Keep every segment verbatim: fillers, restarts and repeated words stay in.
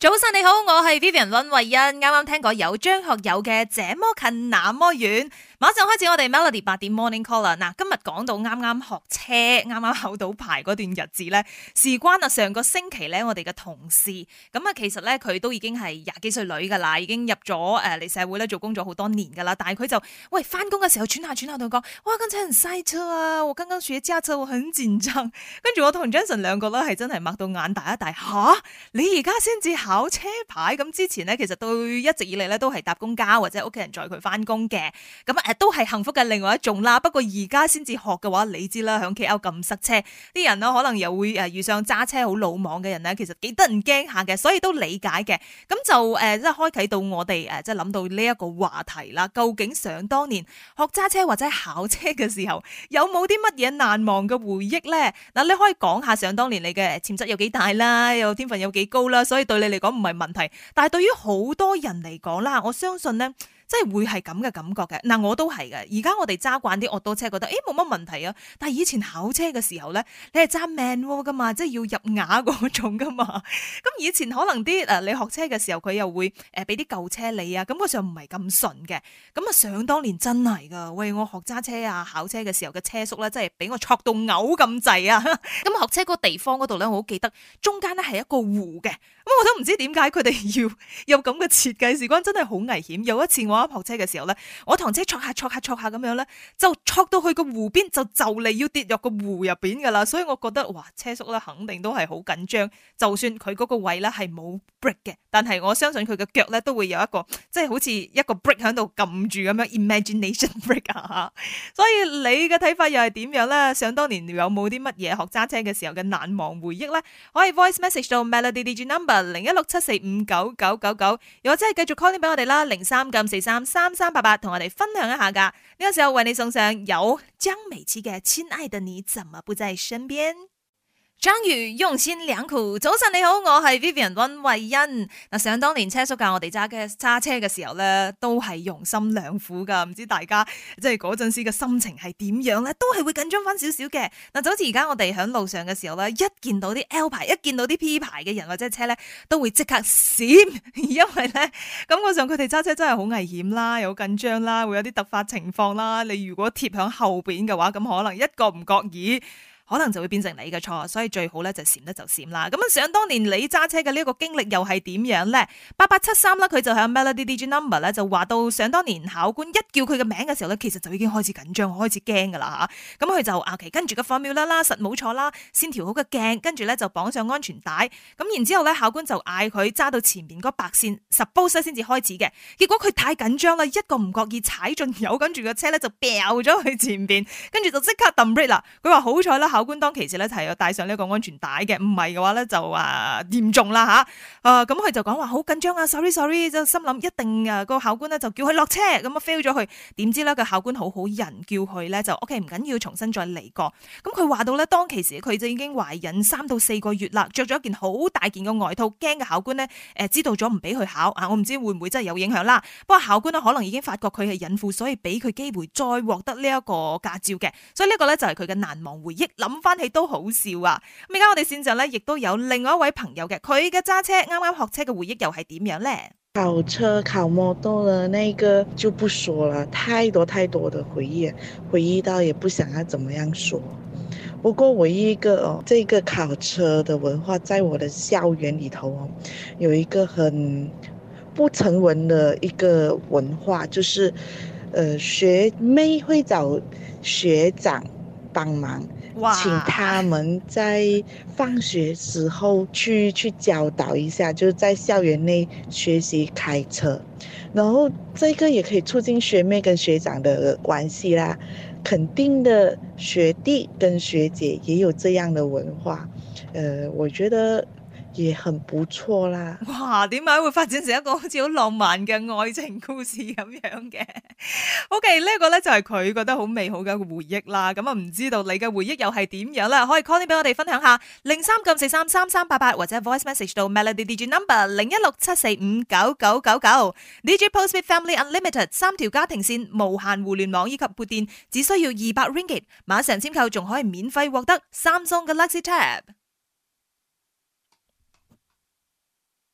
早晨你好，我係 Vivian 溫慧欣，啱啱聽過有張學友嘅這麼近那麼遠，馬上開始我哋 Melody 八點 Morning Call 啦。嗱，今日講到啱啱學車，啱啱考到牌嗰段日子咧，事關啊上個星期咧，我哋嘅同事咁啊，其實咧佢都已經係廿幾歲女噶啦，已經入咗誒嚟社會咧做工咗好多年噶啦，但係佢就喂翻工嘅時候轉下轉下同佢講，哇，剛才很塞車啊，我剛剛學駕車，我很緊張。跟住我同 Jason 兩個咧係真係擘到眼大一大，吓，你而家先至考車牌，咁之前咧其實都一直以嚟咧都係搭公交或者屋企人載佢翻工嘅，咁誒都係幸福嘅另外一種啦。不過而家先至學嘅話，你知啦，響 K L 咁塞車，啲人呢可能又會誒遇上揸車好魯莽嘅人咧，其實幾得人驚下嘅，所以都理解嘅。咁就誒即係開啟到我哋誒即係諗到呢一個話題啦。究竟想當年學揸車或者考車嘅時候，有冇啲乜嘢難忘嘅回憶咧？嗱，你可以講下想當年你嘅潛質有幾大啦，有天分有幾高啦，所以對你嚟講唔係問題。但係對於好多人嚟講啦，我相信咧，即係會係咁嘅感覺嘅。嗱，我都係嘅。而家我哋揸慣啲惡多車，覺得誒冇乜問題啊。但係以前考車嘅時候咧，你係揸 manual 噶嘛，即係要入雅嗰種噶嘛。咁以前可能啲誒你學車嘅時候，佢又會誒俾啲舊車你啊，感覺上唔係咁順嘅。咁啊，想當年真係噶，喂，我學揸車啊考車嘅時候嘅車速咧，真係俾我挫到嘔咁滯啊！咁學車嗰個地方嗰度咧，我好記得中間咧係一個湖嘅。咁我都唔知點解佢哋要有咁嘅設計，事關真係好危險。有一次我啱學車嘅時候咧，我堂車挫下挫下挫下咁樣咧，就挫到去個湖邊，就就嚟要跌入個湖入邊噶啦。所以我覺得哇，車速咧肯定都係好緊張。就算佢嗰個位咧係冇 brake 嘅，但係我相信佢嘅腳咧都會有一個即係好似一個 brake 喺度撳住咁樣 ，imagination brake 啊。所以你嘅睇法又係點樣咧？想當年有冇啲乜嘢學揸車嘅時候嘅難忘回憶咧？可以 voice message 到 Melody D J number 零一六七四五九九九九，又或者係繼續 call 俾我哋啦，零三九四三三三八八，同我哋分享一下噶。呢個時候為你送上有江美琪嘅《親愛的你怎麼不在身邊》。張宇用心良苦，早晨你好，我係 Vivian 溫慧欣。嗱，想當年車叔教我哋揸嘅揸車嘅時候咧，都係用心良苦噶。唔知大家即係嗰陣時嘅心情係點樣咧？都係會緊張翻少少嘅。嗱，就好似而家我哋響路上嘅時候咧，一見到啲 L 牌，一見到啲 P 牌嘅人或者車咧，都會即刻閃，因為咧感覺上佢哋揸車真係好危險啦，又好緊張啦，會有啲突發情況啦。你如果貼響後邊嘅話，咁可能一個唔覺意，可能就會變成你嘅錯，所以最好咧就閃得就閃啦。咁啊，想當年你揸車嘅呢一個經歷又係點樣咧？八八七三啦，佢就喺 Melody D J number 咧就話到，想當年考官一叫佢嘅名嘅時候咧，其實就已經開始緊張，開始驚噶啦吓。咁佢就啊，其跟住個 formula 啦，實冇錯啦，先調好個鏡，跟住咧就綁上安全帶。咁然之後咧，考官就嗌佢揸到前面嗰白線 suppose 先至開始嘅。結果佢太緊張啦，一個唔覺意踩進油，跟住個車咧就飆咗去前邊，跟住就即刻揼 brake 啦。佢話好彩啦。考官當其時咧係有戴上呢個安全帶嘅，唔係嘅話咧就啊嚴重啦吓，啊咁佢就講話好緊張啊 ，sorry sorry，就心諗一定啊個考官咧就叫佢落車，咁啊 fail 咗佢，點知咧個考官好好人，叫佢咧就 OK 唔緊要，重新再嚟過。咁佢話到咧當其時佢就已經懷孕三到四個月啦，着咗一件好大件嘅外套，驚嘅考官咧誒知道咗唔俾佢考啊，我唔知會唔會真係有影響啦。不過考官咧可能已經發覺佢係孕婦，所以俾佢機會再獲得呢一個駕照嘅，所以呢個咧就係佢嘅難忘回憶。諗翻起都好笑啊！咁而家我哋線上咧，亦都有另外一位朋友嘅，佢嘅揸車啱啱學車嘅回憶又係點樣咧？ 考車考摩托的那個就不說了，太多太多的回憶，回憶到也不想要怎麼樣說。不過唯一一個哦，這個考車的文化，在我的校園裏頭哦，有一個很不成文的一個文化，就是，呃，學妹會找學長幫忙。請他們在放學時候去去教導一下，就是在校園內學習開車，然後這個也可以促進學妹跟學長的關係啦。肯定的學弟跟學姐也有這樣的文化，呃，我覺得也很不錯啦。 哇，點解會發展成一個好似好浪漫嘅愛情故事咁樣嘅？OK，呢個咧就係佢覺得好美好嘅一個回憶啦。咁啊，唔知道你嘅回憶又係點樣啦？可以 call 啲俾我哋分享下，零三九四三三三八八或者 voice message 到 Melody D J number 零一六七四五九九九九。D J Postpaid Family Unlimited 三條家庭線無限互聯網以及撥電，只需要二百 ringgit， 馬上簽購仲可以免費獲得 Samsung Galaxy Tab。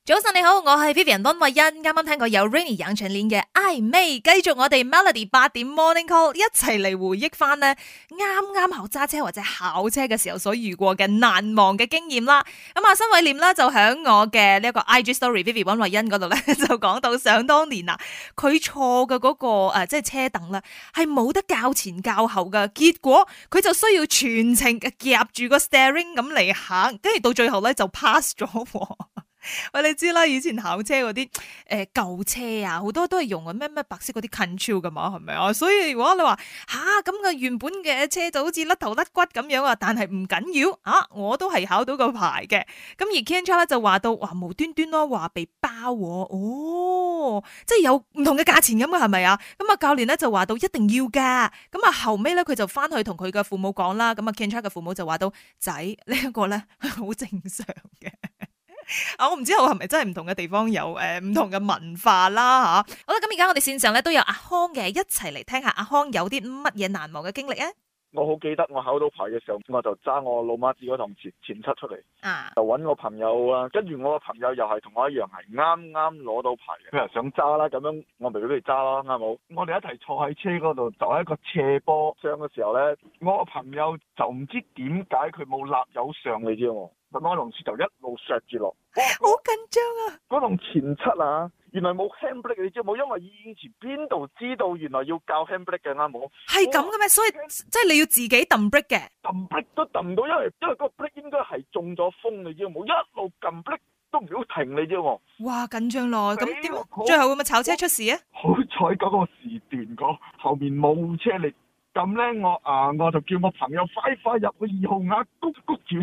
早晨你好，我係 Vivian 溫慧欣，啱啱聽過有 Rainy 楊丞琳嘅曖昧，繼續我哋 Melody 八點 Morning Call 一齊嚟回憶翻呢啱啱學揸車或者考車嘅時候所遇過嘅難忘嘅經驗啦。咁啊，新偉廉咧就響我嘅呢一個 I G Story Vivian 溫慧欣嗰度咧就講到，想當年啊，佢坐嘅嗰個誒即係車凳咧係冇得較前較後噶，結果佢就需要全程夾住個 steering 咁嚟行，跟住到最後咧就 pass 咗。喂，你知啦，以前考車嗰啲誒舊車啊，好多都係用嘅咩咩白色嗰啲 control 噶嘛，係咪啊？所以如果你話吓咁嘅原本嘅車就好似甩頭甩骨咁樣啊，但係唔緊要啊，我都係考到個牌嘅。咁而 Ken 咧就話到哇無端端咯話被包喎，哦，即係有唔同嘅價錢咁嘅係咪啊？咁啊教練咧就話到一定要噶，咁啊後尾咧佢就翻去同佢嘅父母講啦，咁啊 Ken 嘅父母就話到仔呢一個咧好正常嘅。啊，我唔知道係咪真係唔同嘅地方有誒唔同嘅文化啦吓。好啦，咁而家我哋線上咧都有阿康嘅，一齊嚟聽下阿康有啲乜嘢難忘嘅經歷啊！ 我好記得我考到牌嘅時候，我就揸我老媽子嗰趟前前七出嚟， 啊， 就揾我朋友啊，跟住我個朋友又係同我一樣係啱啱攞到牌嘅，佢又想揸啦，咁樣我咪俾佢揸啦，啱冇？我哋一齊坐喺車嗰度，就喺一個斜坡上嘅時候呢，我個朋友就唔知點解佢冇立油上，你知喎，咁我同事就一路削住落， 好緊張啊！ 嗰趟前七啊！原來冇 handbrake 你知冇？因為以前邊度知道原來要教 handbrake 嘅啱冇？ 係咁嘅咩？所以即係你要自己揼 brake 嘅， 揼 brake 都揼唔到，因為因為嗰個 brake 應該係中咗風，你知冇？一路撳 brake 都唔要停，你知喎。 哇，緊張咯！咁點？最後會唔會炒車出事啊？ 好彩嗰個時段個後面冇車嚟，咁咧我啊我就叫我朋友快快入去二號額谷谷住。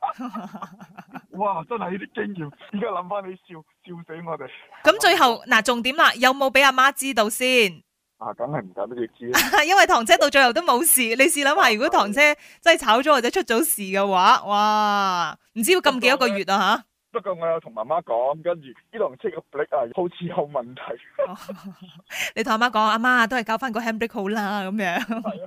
哇！真係呢啲經驗，而家諗翻你笑笑死我哋。 咁最後嗱，重點啦，有冇俾阿媽知道先？ 啊，梗係唔敢俾佢知啦。 因為堂車到最後都冇事，你試諗下，如果堂車真係炒咗或者出咗事嘅話，哇！唔知要禁幾多個月啊吓？ 不過我有同媽媽講，跟住呢輛車個 brake 啊，好似有問題。 哦、你同阿媽講，阿媽都係交翻個 handbrake 好啦，咁樣。 係啊。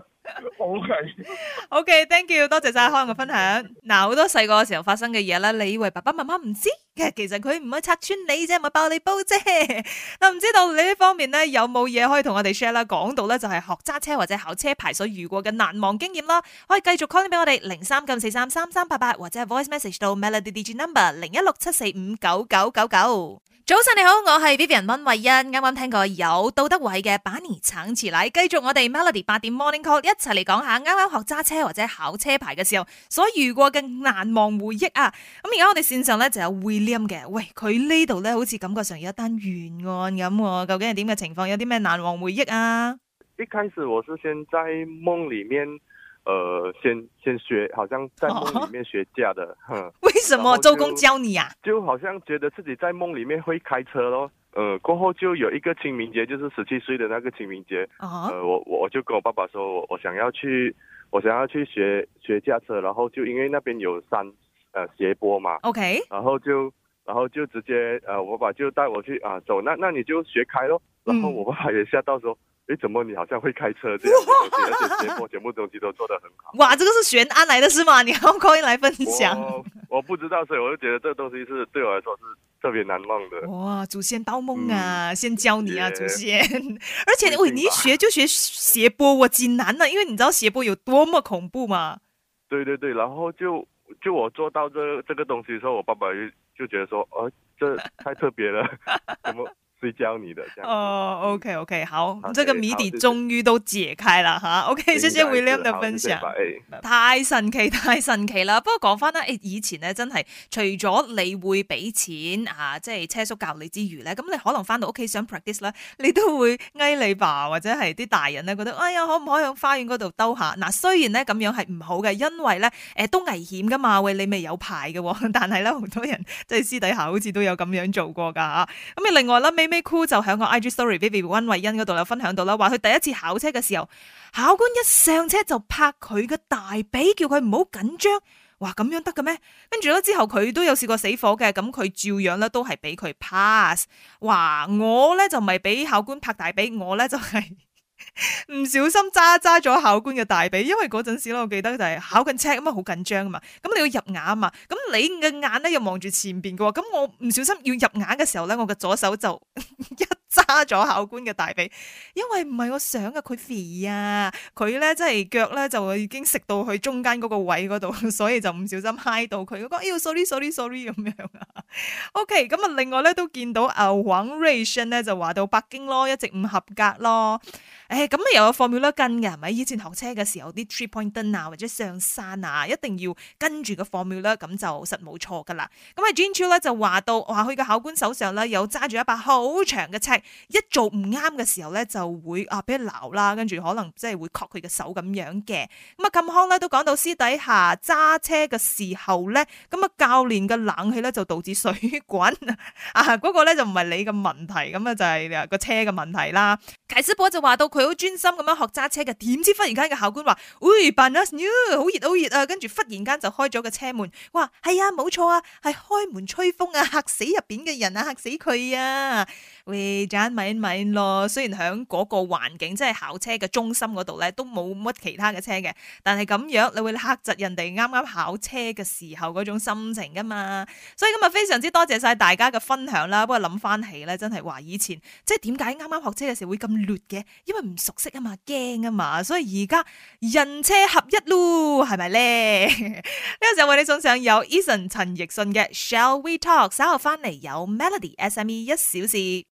OK，OK，thank you，多謝晒開嘅分享。嗱，好多細個嘅時候發生嘅嘢咧，你以為爸爸媽媽唔知，其實佢唔係拆穿你啫，唔係爆你煲啫。嗱，唔知道你呢方面咧有冇嘢可以同我哋 share 啦？講到咧就係學揸車或者考車牌所遇過嘅難忘經驗啦，可以繼續 call 俾我哋零三九四三三三八八，或者係 voice message 到 Melody D J number 零一六七四五九九九九。早晨你好，我係 Vivian 溫慧欣，啱啱聽過有杜德偉嘅把年橙詞奶，繼續我哋 Melody 八點 Morning Call 一齊嚟講下啱啱學揸車或者考車牌嘅時候所遇過嘅難忘回憶啊！咁而家我哋線上咧就有 William 嘅，喂，佢呢度咧好似感覺上有一單懸案咁，究竟係點嘅情況？有啲咩難忘回憶啊？ 一開始我是先在夢裏面。呃，先先學，好像在夢裏面學駕的，哼、哦。 為什麼周公教你啊？ 就好像覺得自己在夢裏面會開車咯。呃，過後就有一個清明節，就是十七歲的那個清明節。Uh-huh. 呃，我我就跟我爸爸說，我我想要去，我想要去學學駕車，然後就因為那邊有山，呃斜坡嘛。OK。然後就，然後就直接，呃，我爸爸就帶我去啊，走，那那你就學開咯。然後我爸爸也嚇到說。嗯誒，怎麼你好像會開車這樣的東西，而且節目全部東西都做得很好。 哇，這個是懸案來的是嗎？你要 call in 來分享。 我我不知道，所以我就覺得這個東西是對我來說是特別難忘的。 哇，祖先報夢啊、嗯，先教你啊，祖先。而且喂，你一學就學斜坡，我幾難啊，因為你知道斜坡有多麼恐怖嘛。 對對對，然後就就我做到這這個東西的時候，我爸爸就就覺得說，哦、呃，這太特別了，怎麼？是教你的，這樣哦、oh，OK OK，好，這個謎底終於都解開了哈。OK，謝謝 William 的分享，太神奇太神奇啦。不過講翻啦，誒，以前咧真係除咗你會俾錢啊，即係車叔教你之餘咧，咁你可能翻到屋企想 practice 咧，你都會嗌你爸或者係啲大人咧覺得，哎呀，可唔可以喺花園嗰度兜下？嗱，雖然咧咁樣係唔好嘅，因為咧誒都危險噶嘛，喂，你未有牌嘅，但係咧好多人即係私底下好似都有咁樣做過噶吓。咁啊，另外啦，May Cool 就喺個 I G Story Vivian 溫慧欣嗰度有分享到啦，話佢第一次考車嘅時候，考官一上車就拍佢嘅大髀，叫佢唔好緊張。哇，咁樣得嘅咩？跟住咧之後佢都有試過死火嘅，咁佢照樣咧都係俾佢 pass。哇，我咧就唔係俾考官拍大髀，我咧就係、是。 唔小心揸揸咗考官嘅大髀，因為嗰陣時咧，我記得就係考緊車咁啊，好緊張啊嘛。咁你要入眼啊嘛，咁你嘅眼咧又望住前邊嘅喎，咁我唔小心要入眼嘅時候咧，我嘅左手就一揸咗考官嘅大髀，因為唔係我想嘅，佢肥啊，佢咧即係腳咧就已經食到去中間嗰個位嗰度，所以就唔小心揩到佢。我講哎呀 sorry sorry sorry 咁樣啊。OK，咁啊另外咧都見到啊黃瑞信咧就話到北京咯，一直唔合格咯。誒，咁啊又有 formula 跟嘅係咪？以前學車嘅時候啲 three point turn 啊或者上山啊，一定要跟住個 formula，咁就實冇錯噶啦。咁啊 Jean Chiu 咧就話到，話佢嘅考官手上咧有揸住一把好長嘅尺，一做唔啱嘅時候咧就會啊俾人鬧啦，跟住可能即係會確佢嘅手咁樣嘅。咁啊靳康咧都講到私底下揸車嘅時候咧，咁啊教練嘅冷氣咧就導致水滾啊，嗰、那個咧就唔係你嘅問題，咁啊就係個車嘅問題啦。解師婆就話到佢好專心咁樣學揸車嘅，點知忽然間嘅考官話，喂 Panas new 好熱好熱啊，跟住忽然間就開咗個車門，哇係啊冇錯啊，係開門吹風啊，嚇死入邊嘅人啊，嚇死佢啊！喂，盞咪咪咯，雖然喺嗰個環境即係考車嘅中心嗰度咧，都冇乜其他嘅車嘅，但係咁樣你會嚇窒人哋啱啱考車嘅時候嗰種心情噶嘛。所以今日非常之多謝晒大家嘅分享啦。不過諗翻起咧，真係話以前即係點解啱啱學車嘅時候會咁亂嘅？因為唔熟悉啊嘛，驚啊嘛，所以而家人車合一咯，係咪咧？呢個時候為你送上有 Eason 陳奕迅嘅 Shall We Talk， 稍後翻嚟有 Melody S M E 一小時。